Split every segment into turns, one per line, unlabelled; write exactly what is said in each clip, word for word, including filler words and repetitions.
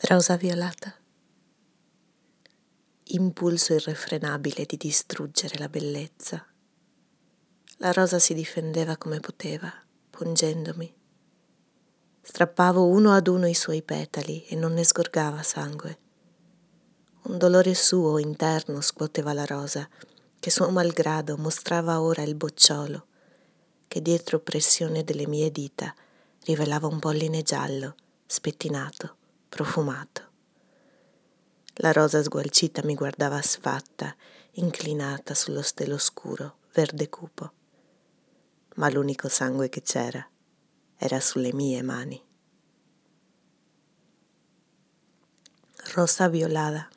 Rosa violata. Impulso irrefrenabile di distruggere la bellezza. La rosa si difendeva come poteva, pungendomi. Strappavo uno ad uno i suoi petali e non ne sgorgava sangue. Un dolore suo interno scuoteva la rosa, che suo malgrado mostrava ora il bocciolo, che dietro pressione delle mie dita rivelava un polline giallo, spettinato, profumato. La rosa sgualcita mi guardava sfatta, inclinata sullo stelo scuro, verde cupo. Ma l'unico sangue che c'era era sulle mie mani. Rosa violada.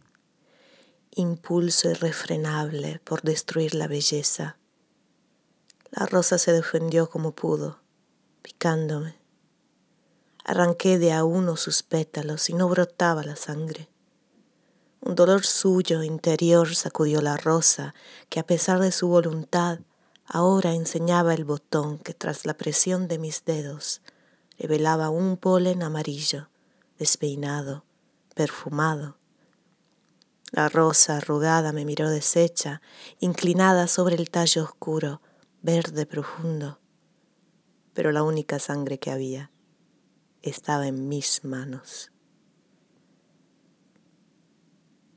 Impulso irrefrenable por destruir la belleza. La rosa se defendió como pudo, picándome. Arranqué de a uno sus pétalos y no brotaba la sangre. Un dolor suyo interior sacudió la rosa, que a pesar de su voluntad, ahora enseñaba el botón que tras la presión de mis dedos revelaba un polen amarillo, despeinado, perfumado. La rosa arrugada me miró deshecha, inclinada sobre el tallo oscuro, verde profundo. Pero la única sangre que había estaba en mis manos.